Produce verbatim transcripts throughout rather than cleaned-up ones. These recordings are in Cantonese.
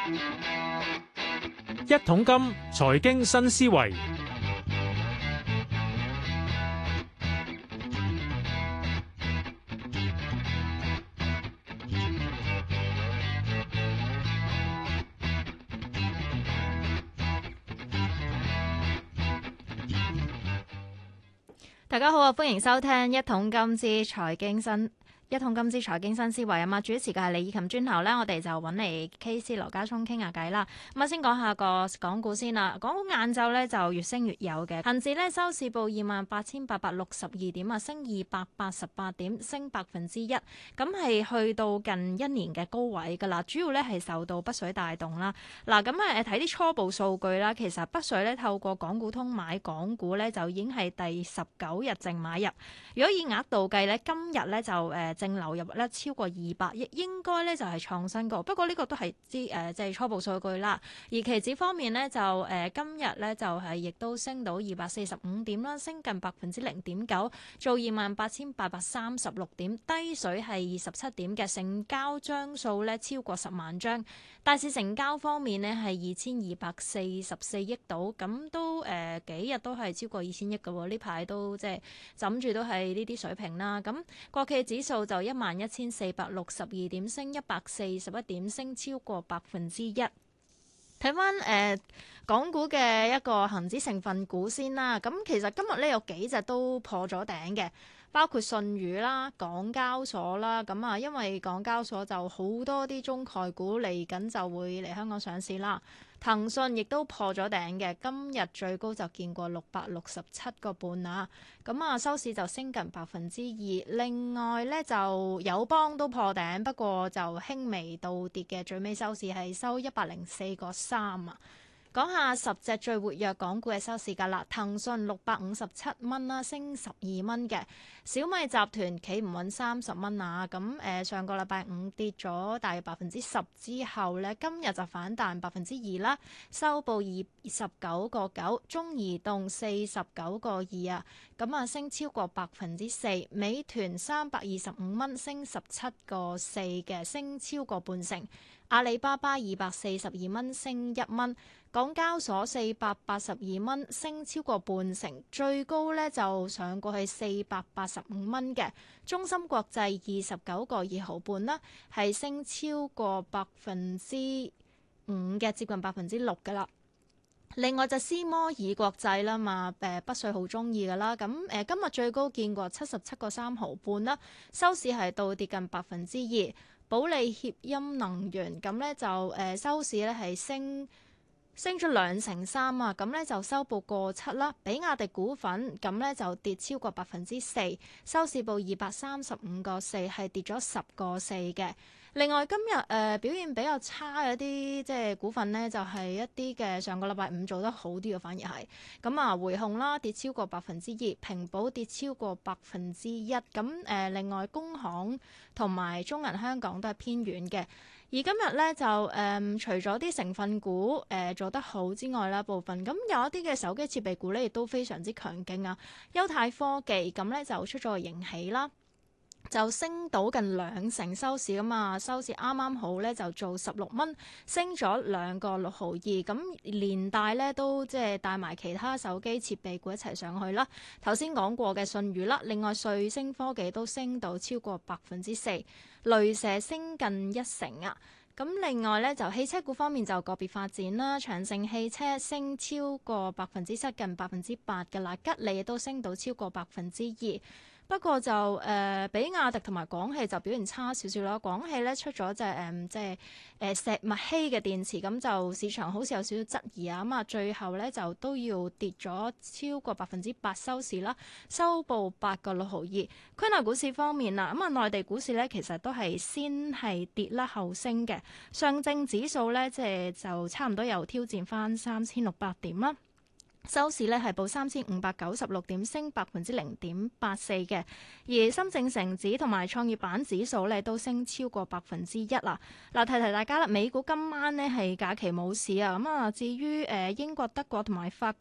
一桶金財經新思維， 大家好啊，歡迎收聽一桶金之財經新。一桶金之財經新思維啊嘛，主持嘅係李以琴。轉頭咧，我哋就揾嚟 K C 羅家聰傾下偈啦。咁啊，先講下個港股先啦。港股晏晝咧就越升越有嘅，恒指咧收市報二萬八千八百六十二點啊，升二百八十八點，升百分之一。咁係去到近一年嘅高位㗎啦。主要咧係受到北水帶動啦。嗱，咁啊誒睇啲初步數據啦，其實北水咧透過港股通買港股咧就已經係第十九日淨買入。如果以額度計咧，今日咧就誒。呃淨流入咧超過二百億，應該咧就係創新高。不過呢個都係啲誒即係初步數據啦。而期指方面咧就誒、呃、今日咧就係、是、亦都升到二百四十五點啦，升近百分之零點九，做二萬八千八百三十六點，低水係二十七點嘅，成交張數咧超過十萬張。大市成交方面呢係二千二百四十四億度，咁都誒、呃、幾日都係超過二千億嘅喎。呢排都即係枕住都係呢啲水平啦。咁國企指數就一萬一千四百六十二點，升一百四十一點，升超過百分之一。睇翻誒港股嘅一個恒指成分股先啦。咁其實今日咧有幾隻都破咗頂嘅，包括信譽啦、港交所啦。咁啊，因為港交所就好多啲中概股嚟緊就會嚟香港上市啦。騰訊亦都破咗頂嘅，今日最高就見過六百六十七個半啊。咁啊，收市就升近百分之二。另外咧就友邦都破頂，不過就輕微倒跌嘅，最尾收市係收一百零四個三啊。講下十隻最活躍港股嘅收市價啦。騰訊六百五十七蚊啦，升十二蚊嘅。小米集團企唔穩三十蚊啊。咁誒、呃、上個禮拜五跌咗大約百分之十之後咧，今日就反彈百分之二啦，收報二十九個九。中移動四十九個二啊，咁啊升超過百分之四。美團三百二十五蚊，升十七個四嘅，升超過半成。阿里巴巴二百四十二蚊，升一蚊。港交所四百八十二蚊，升超過半成，最高咧就上過去四百八十五蚊嘅。中芯國際二十九個二毫半啦，係升超過百分之五嘅，接近百分之六㗎啦。另外就斯摩爾國際啦嘛，誒北水好中意㗎啦。咁誒今日最高見過七十七個三毫半啦，收市係倒跌近百分之二。保利協鑫能源咁咧就誒、呃、收市咧係升。升咗兩成三啊，咁咧就收報過七啦。比亞迪股份咁咧就跌超過百分之四，收市報二百三十五個四，係跌咗十個四嘅。另外今日誒、呃、表現比較差嘅一啲即係股份咧，就係、是、一啲嘅上個禮拜五做得好啲嘅，反而係咁啊，匯控啦跌超過百分之二，平保跌超過百分之一。咁誒、呃、另外工行同埋中銀香港都係偏軟嘅。而今日咧就誒、嗯，除咗啲成分股誒、呃、做得好之外啦，部分咁有一啲嘅手機設備股咧，亦都非常之強勁啊。優泰科技咁咧就出咗個盈喜啦，就升到近兩成收市㗎嘛，收市啱啱好咧就做十六蚊，升咗兩個六毫二，咁連帶咧都即係帶埋其他手機設備股一齊上去啦。頭先講過嘅信譽啦，另外瑞聲科技都升到超過百分之四，雷蛇升近一成啊。咁另外咧就汽車股方面就個別發展啦，長城汽車升超過百分之七，近百分之八嘅啦，吉利亦都升到超過百分之二。不過就誒、呃，比亞迪同埋廣汽就表現差少少啦。廣汽咧出咗隻誒，即係誒石墨烯嘅電池，咁就市場好似有少少質疑啊。咁啊，最後咧就都要跌咗超過百分之八收市啦，收報八個六毫二。區內股市方面啦，咁啊，內地股市咧其實都係先係跌啦後升嘅。上證指數咧即係就差唔多又挑戰翻三千六百點啦。收市咧係報三千五百九十六點，升百分之零點八四嘅。而深證成指同埋創業板指數咧都升超過百分之一啦。嗱，提提大家啦，美股今晚咧係假期冇市啊。咁啊，至於誒英國、德國同埋法國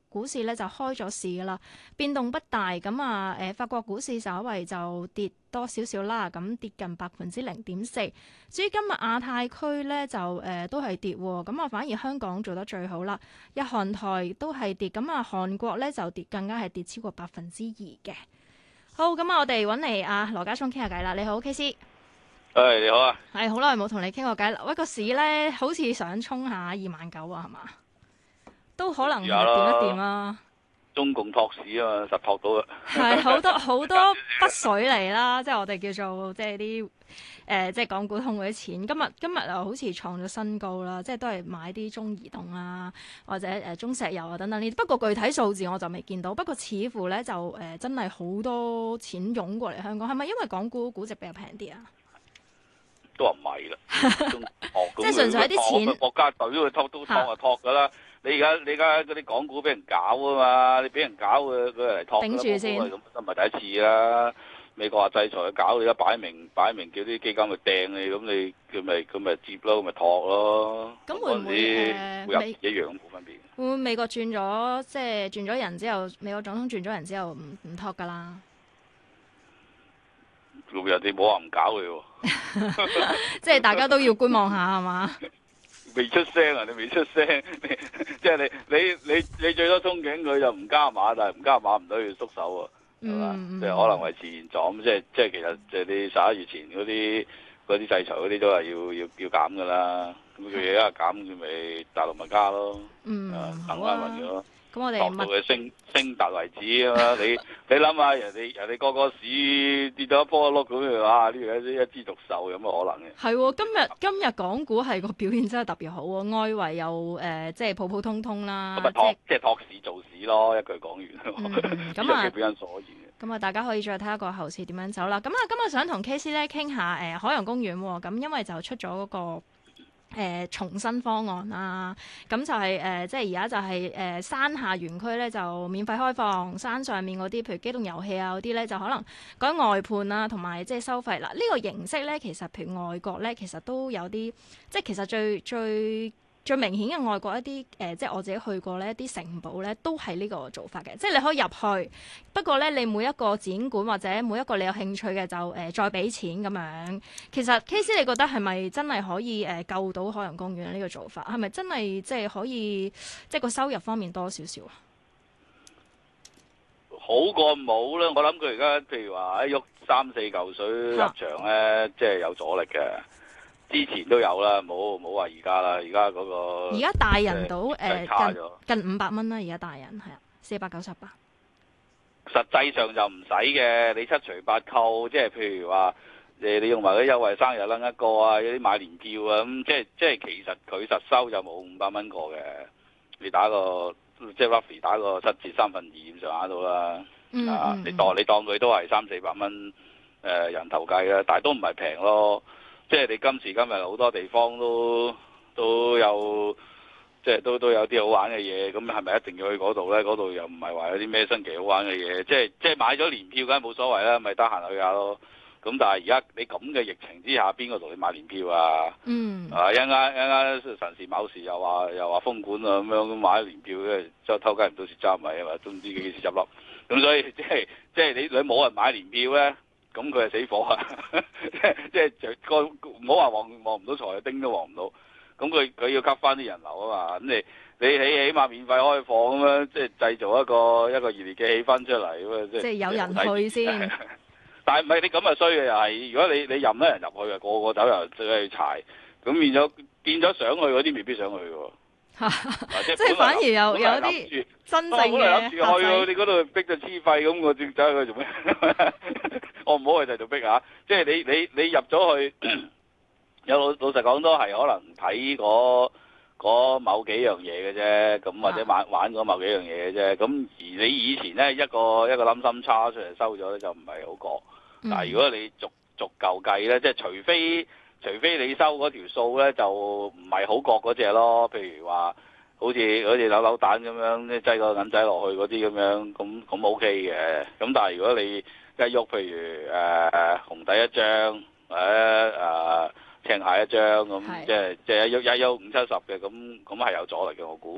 股市咧就開咗市噶啦，變動不大。咁啊誒，法國股市稍為就跌多少少啦，咁跌近百分之零點四。至於今日亞太區咧就誒、呃、都係跌喎，咁啊反而香港做得最好啦。日韓台都係跌，咁啊韓國咧就跌，更加係跌超過百分之二嘅。好，咁啊我哋揾嚟阿羅家聰傾下偈啦。你好，K C。 誒、hey, 你好啊， 係好耐冇同你傾過偈啦。喂，個市咧好似想衝下二萬九啊，係嘛？都可能掂一掂啊！ 中共托市啊嘛，實托到啊！ 係好多好多筆水嚟啦，即係我哋叫做即係啲誒，即係港股通嗰啲錢。今日今日又好似創咗新高啦，即係都係買啲中移動啊，或者誒、呃、中石油啊等等呢啲。不過具體數字我就未見到。不過似乎咧就誒、呃、真係好多錢湧過嚟香港，係咪因為港股估值比較平啲啊？ 都話唔係啦， 即係純粹啲錢， 國家隊都托都托就托噶啦。你而家你而家嗰啲港股俾人搞啊嘛，你俾人搞佢佢嚟托， 頂住先， 咁都唔係第一次啦。美國話制裁佢搞，你而家擺明擺明叫啲基金去掟你，咁你佢咪佢咪接咯，咪托咯。 咁會唔會誒會有一樣冇分別？ 會唔會美國轉咗即係轉咗人之後，美國總統轉咗人之後唔唔托㗎啦？ 人哋冇話唔搞佢喎， 即係大家都要觀望下係嘛？ 未出聲啊！你未出聲，即係你你你你最多憧憬佢就唔加碼，但係唔加碼唔等於縮手喎，係嘛？即係可能維持現狀，即係即係其實即係你十一月前嗰啲嗰啲制裁嗰啲都係要要要減㗎啦。咁佢而家減，佢咪大陸咪加咯， 嗯， 等翻運咗。 咁我哋落到佢升升達為止啊嘛！你你諗下，人哋人哋個個市跌到一波一碌咁樣，哇！呢樣一一枝獨秀有乜可能嘅？ 係喎，今日今日港股係個表現真係特別好喎，外圍又誒、呃、即係普普通通啦， 咁咪托即係托市做市咯，一句講完。 咁啊， 表因所言。 咁啊，大家可以再睇下個後市點樣走啦。咁啊，今日想同 K C 咧傾下誒、呃、海洋公園喎，咁因為就出咗嗰、那個。誒、呃、重新方案啦，咁就係、是、誒、呃，即係而家就係、是、誒、呃、山下園區咧就免費開放，山上面嗰啲譬如機動遊戲啊嗰啲咧就可能改外判啊，同埋即係收費啦。呢、這個形式咧其實譬如外國咧其實都有啲，即係其實最最。最明顯嘅外國一啲誒、呃，即係我自己去過呢一啲城堡咧，都係呢個做法嘅，即係你可以入去。不過咧，你每一個展館或者每一個你有興趣嘅就誒、呃、再俾錢咁樣。其實 K C 你覺得係咪真係可以誒、呃、救到海洋公園呢個做法？係咪真係即係可以即係個收入方面多少少啊？ 好過冇啦，我諗佢而家譬如話一喐三四嚿水入場咧，即係有阻力嘅。之前都有啦，冇冇話而家啦，而家嗰個而家大人到誒、呃、近近五百蚊啦，而家大人係啊，四百九十八。 實際上就唔使嘅，你七除八扣，即係譬如話誒，你用埋啲優惠生日撚一個啊，有啲買年票啊，咁即係即係其實佢實收就冇五百蚊個嘅，你打個即係 roughly 打個七折三分二咁上下到啦， 嗯、 啊， 嗯、 你當你當佢都係三四百蚊誒人頭計啦，但係都唔係平咯。即係你今時今日好多地方都都有，即係都都有啲好玩嘅嘢，咁係咪一定要去嗰度咧？嗰度又唔係話有啲咩新奇好玩嘅嘢，即係即係買咗年票梗係冇所謂啦，咪得閒去下咯。咁但係而家你咁嘅疫情之下，邊個同你買年票啊？ 嗯。 啊一陣間一陣間神時某時又話又話封管啊咁樣，咁買咗年票嘅，即係偷雞唔到蝕揸米啊嘛，都唔知幾時執笠。咁所以即係即係你你冇人買年票咧。咁佢係死火啊！即係即係個唔好話望望唔到財，丁都望唔到。咁佢佢要吸翻啲人流啊嘛。咁你你起起碼免費開放咁樣，即係製造一個一個熱烈嘅氣氛出嚟咁啊！即係有人去先。 但係唔係你咁啊衰嘅又係，如果你你任得人入去啊，個個走又走去柴，咁變咗變咗想去嗰啲未必想去喎。 即係反而有有啲真正嘅去你嗰度逼到黐肺咁，我正走去做咩？我唔好去第度逼嚇。即係你你你入咗去，有老老實講都係可能睇嗰某幾樣嘢嘅啫，咁或者玩玩嗰某幾樣嘢嘅啫。咁而你以前咧一個一個冧心叉出嚟收咗咧，就唔係好過。但係如果你逐逐嚿計咧，即係除非。除非你收嗰條數咧，就唔係好覺嗰隻咯。譬如話，好似好似扭扭蛋咁樣，即係擠個銀仔落去嗰啲咁樣，咁咁 OK 嘅。咁但係如果你一喐，譬如誒、呃、紅底一張，或者誒青蟹一張咁，即係即係一喐一喐五七十嘅，咁咁係有阻力嘅，我估。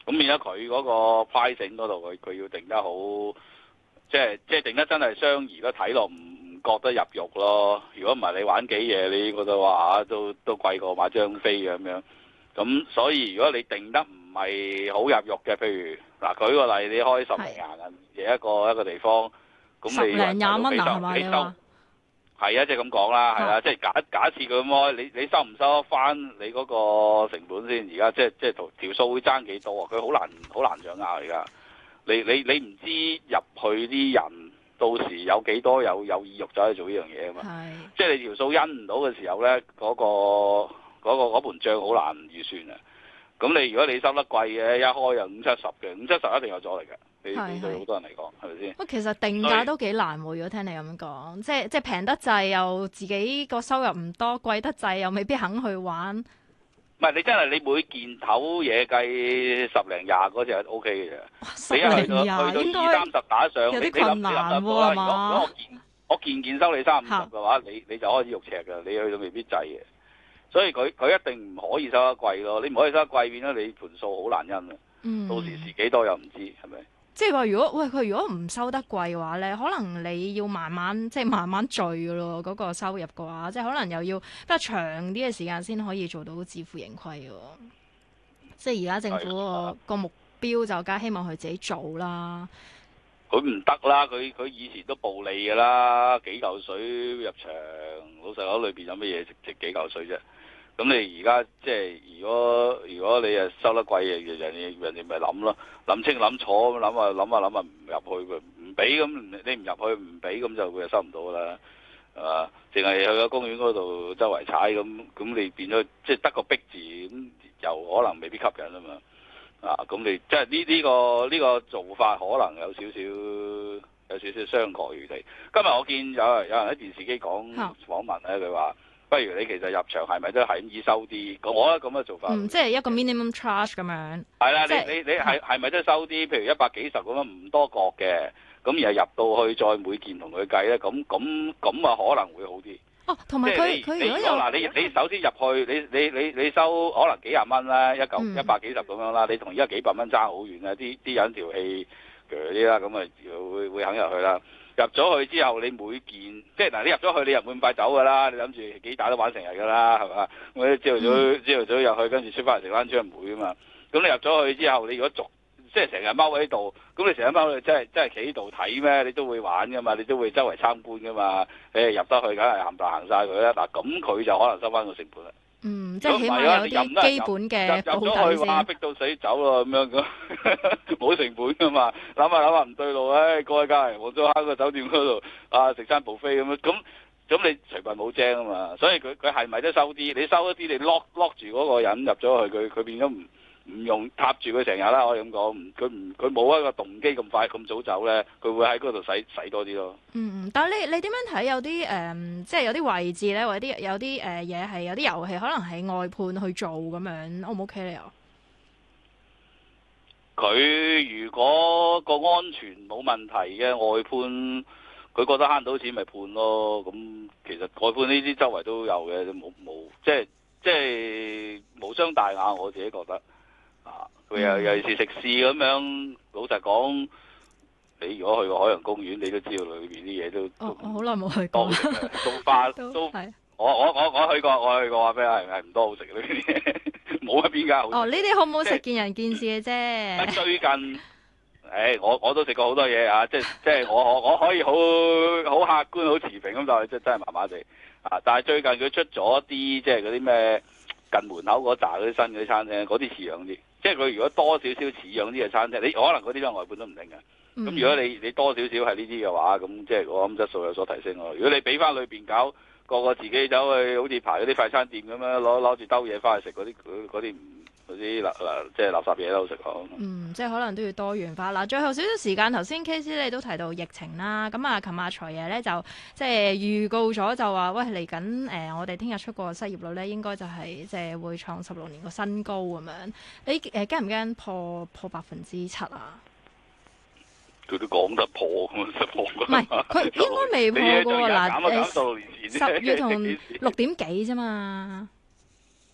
咁變咗佢嗰個 pricing 嗰度，佢佢要定得好，即係即係定得真係相宜咯，睇落唔唔覺得入肉咯。如果唔係你玩幾嘢，你覺得話都都貴過買張飛嘅咁樣。咁所以如果你定得唔係好入肉嘅，譬如嗱舉個例，你開十零廿銀嘅一個一個地方，咁你十零廿蚊啊，係嘛？ 你收係啊，即係咁講啦，係啊，即係假假設佢咁開，你你收唔收得翻你嗰個成本先？而家即係即係條條數會爭幾多啊？佢好難好難掌握而家。你你你唔知入去啲人到時有幾多有有意欲走去做呢樣嘢啊嘛？係。即係你條數因唔到嘅時候咧，嗰個嗰個嗰盤帳好難預算啊！咁你如果你收得貴嘅，一開又五七十嘅，五七十一定有阻力嘅。你你對好多人嚟講係咪先？ 不過其實定價都幾難喎。如果聽你咁講，即係即係平得滯又自己個收入唔多，貴得滯又未必肯去玩。 唔係你真係你每件頭嘢計十零廿嗰隻係 O K 嘅啫。你一去到去到二三十打上， 有啲困難喎係嘛？ 如果我件我件件收你三五十嘅話，你你就開始肉赤㗎。你去到未必滯嘅。所以佢佢一定唔可以收得貴咯，你唔可以收得貴，變咗你盤數好難因啊！嗯、到時蝕幾多又唔知，係咪？ 即係話如果喂佢如果唔收得貴嘅話咧，可能你要慢慢即係慢慢聚㗎咯，嗰、嗰個收入嘅話，即係可能又要比較長啲嘅時間先可以做到自負盈虧喎。即係而家政府個個目標就梗係希望佢自己做啦。 佢唔得啦，佢佢以前都暴利㗎啦，幾嚿水入場，老實講裏邊有乜嘢值值幾嚿水啫？咁你而家即係如果如果你誒收得貴嘅，人哋人哋咪諗咯，諗清諗楚咁諗啊諗啊諗啊唔入去唔俾咁，你唔入去唔俾咁就佢就收唔到㗎啦，係嘛？淨係去個公園嗰度周圍踩咁，咁你變咗即係得個逼字咁，又可能未必吸引啊嘛。啊，咁你即係呢呢個呢、呢個做法可能有少少有少少傷過餘地。今日我見有有人喺電視機講訪問咧，佢話。不如你其實入場係咪都係咁易收啲？咁我覺得咁嘅做法， 嗯，即係一個 minimum charge 咁樣。 係啦的， 即你你你係係咪都收啲？譬如一百幾十咁樣唔多角嘅，咁然後入到去再每件同佢計咧，咁咁咁啊可能會好啲。 哦，同埋佢佢如果有嗱，你你首先入去，你你你你收可能幾廿蚊啦，一嚿一百幾十咁樣啦，你同而家幾百蚊爭好遠啊！啲啲人條氣鋸啲啦，咁啊會會肯入去啦。入咗去之後，你每件即係嗱，你入咗去，你又唔會咁快走㗎啦。你諗住幾大都玩成日㗎啦，係嘛？咁朝頭早朝頭早入去，跟住出翻嚟食翻張唔會啊嘛。咁你入咗去之後，你如果逐即係成日踎喺度，咁你成日踎喺度，真係真係企喺度睇咩？你都會玩㗎嘛，你都會周圍參觀㗎嘛。誒入得去，梗係冚唪唥行晒佢啦。嗱，咁佢就可能收翻個成本啦。 嗯，即係起碼有啲基本嘅保底先。入咗去話逼到死走咯，咁樣咁冇成本噶嘛？諗下諗下唔對路，唉，過去隔離黃竹坑個酒店嗰度啊食餐 buffet咁樣，咁咁你隨便冇精啊嘛？所以佢佢係咪都收啲？你收一啲，你 lock lock 住嗰個人入咗去，佢佢變咗唔唔用踏住佢成日啦。可以咁講，佢唔佢冇一個動機咁快咁早走咧，佢會喺嗰度使使多啲咯。 嗯，但係你你點樣睇有啲誒、呃，即係有啲位置咧，或者啲有啲誒嘢係有啲遊戲可能係外判去做咁樣，O 唔 OK 咧？又佢如果個安全冇問題嘅外判，佢覺得慳到錢咪判咯。咁其實外判呢啲周圍都有嘅，冇冇即係即係無傷大雅。我自己覺得啊，佢又尤其是食肆咁樣，老實講。你如果去過海洋公園，你都知道裏邊啲嘢都哦，我好耐冇去過， 都花都，都我我我我去過，我去過話俾你係係唔多好食嘅呢啲嘢，冇一邊間好食。 哦，呢啲好唔好食見仁見智嘅啫。 最近，誒、哎，我我都食過好多嘢啊，即係即係我我我可以好好客觀好持平咁，但係真真係麻麻地啊！但係最近佢出咗啲即係嗰啲咩近門口嗰扎嗰啲新嗰啲餐廳，嗰啲似樣啲。即係佢如果多少少似樣啲嘅餐廳，你可能嗰啲都外判都唔定嘅。咁、嗯、如果你你多少少係呢啲嘅話，咁即係我諗質素有所提升咯。如果你俾翻裏邊搞個個自己走去，好似排嗰啲快餐店咁樣攞攞住兜嘢翻去食嗰啲嗰啲嗰啲垃垃即係垃圾嘢都好食咯。 嗯，即係可能都要多元化啦。最後少少時間，頭先 K C 你都提到疫情啦。咁啊，琴日財爺咧就即係預告咗就話，喂嚟緊誒，我哋聽日出個失業率咧，應該就係即係會創十六年個新高咁樣。你誒驚唔驚破破百分之七啊？ 佢都講得破咁啊，破唔係佢應該未破過嗱，誒十月同六點幾啫嘛。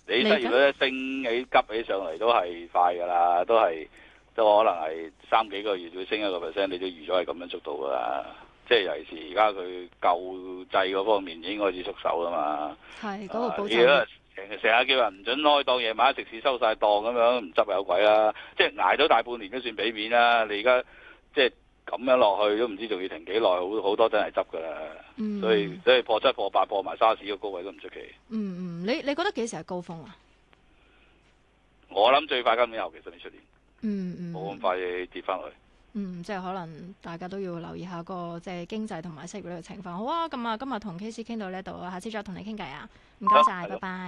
你失業率一升起急起上嚟都係快㗎啦，都係都可能係三幾個月會升一個 percent，你都預咗係咁樣速度㗎啦。即係尤其是而家佢救濟嗰方面已經開始縮手啦嘛。 係嗰、那個保障。成成日叫人唔準開檔，夜晚食肆收晒檔咁樣，唔執有鬼啦！即係捱咗大半年都算俾面啦。你而家即係咁樣落去都唔知仲要停幾耐，好好多真係執㗎啦。嗯、所以所以破七破八破埋沙士個高位都唔出奇。 嗯嗯，你你覺得幾時係高峰啊？ 我諗最快今年後期甚至出年。 嗯嗯。 冇咁快跌翻去。 嗯，即係可能大家都要留意下個即係經濟同埋失業率嘅情況。好啊，咁啊，今日同 K C 傾到呢度啊，下次再同你傾偈啊。唔該晒，拜拜。